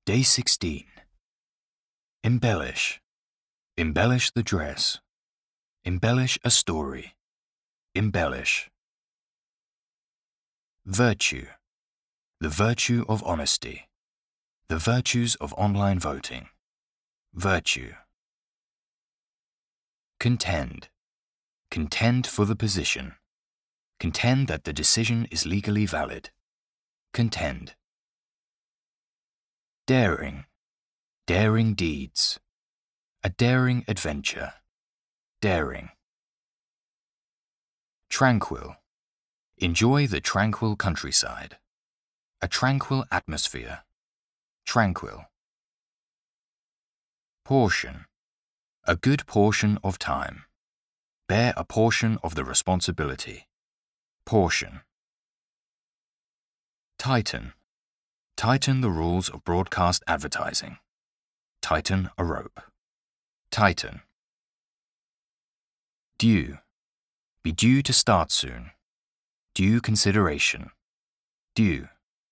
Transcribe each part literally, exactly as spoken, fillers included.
Day sixteen. Embellish. Embellish the dress. Embellish a story. Embellish. Virtue. The virtue of honesty. The virtues of online voting. Virtue. Contend. Contend for the position. Contend that the decision is legally valid. Contend. Daring. Daring deeds. A daring adventure. Daring. Tranquil. Enjoy the tranquil countryside. A tranquil atmosphere. Tranquil. Portion. A good portion of time. Bear a portion of the responsibility. Portion. Tighten. Tighten the rules of broadcast advertising. Tighten a rope. Tighten. Due. Be due to start soon. Due consideration. Due.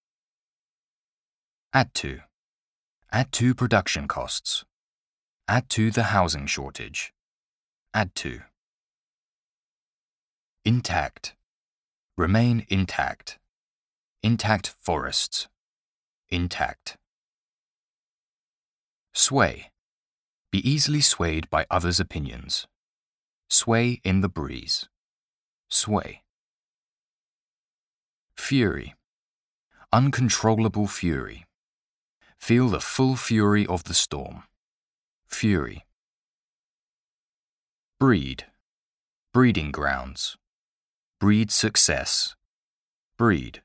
Add to. Add to production costs. Add to the housing shortage. Add to. Intact. Remain intact. Intact forests. Intact. Sway. Be easily swayed by others' opinions. Sway in the breeze. Sway. Fury. Uncontrollable fury. Feel the full fury of the storm. Fury. Breed. Breeding grounds. Breed success. Breed.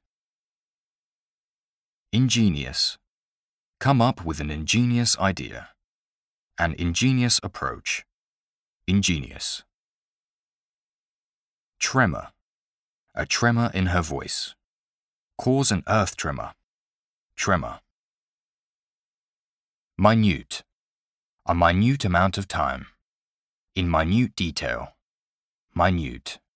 Ingenious. Come up with an ingenious idea. An ingenious approach. Ingenious. Tremor. A tremor in her voice. Cause an earth tremor. Tremor. Minute. A minute amount of time. In minute detail. Minute.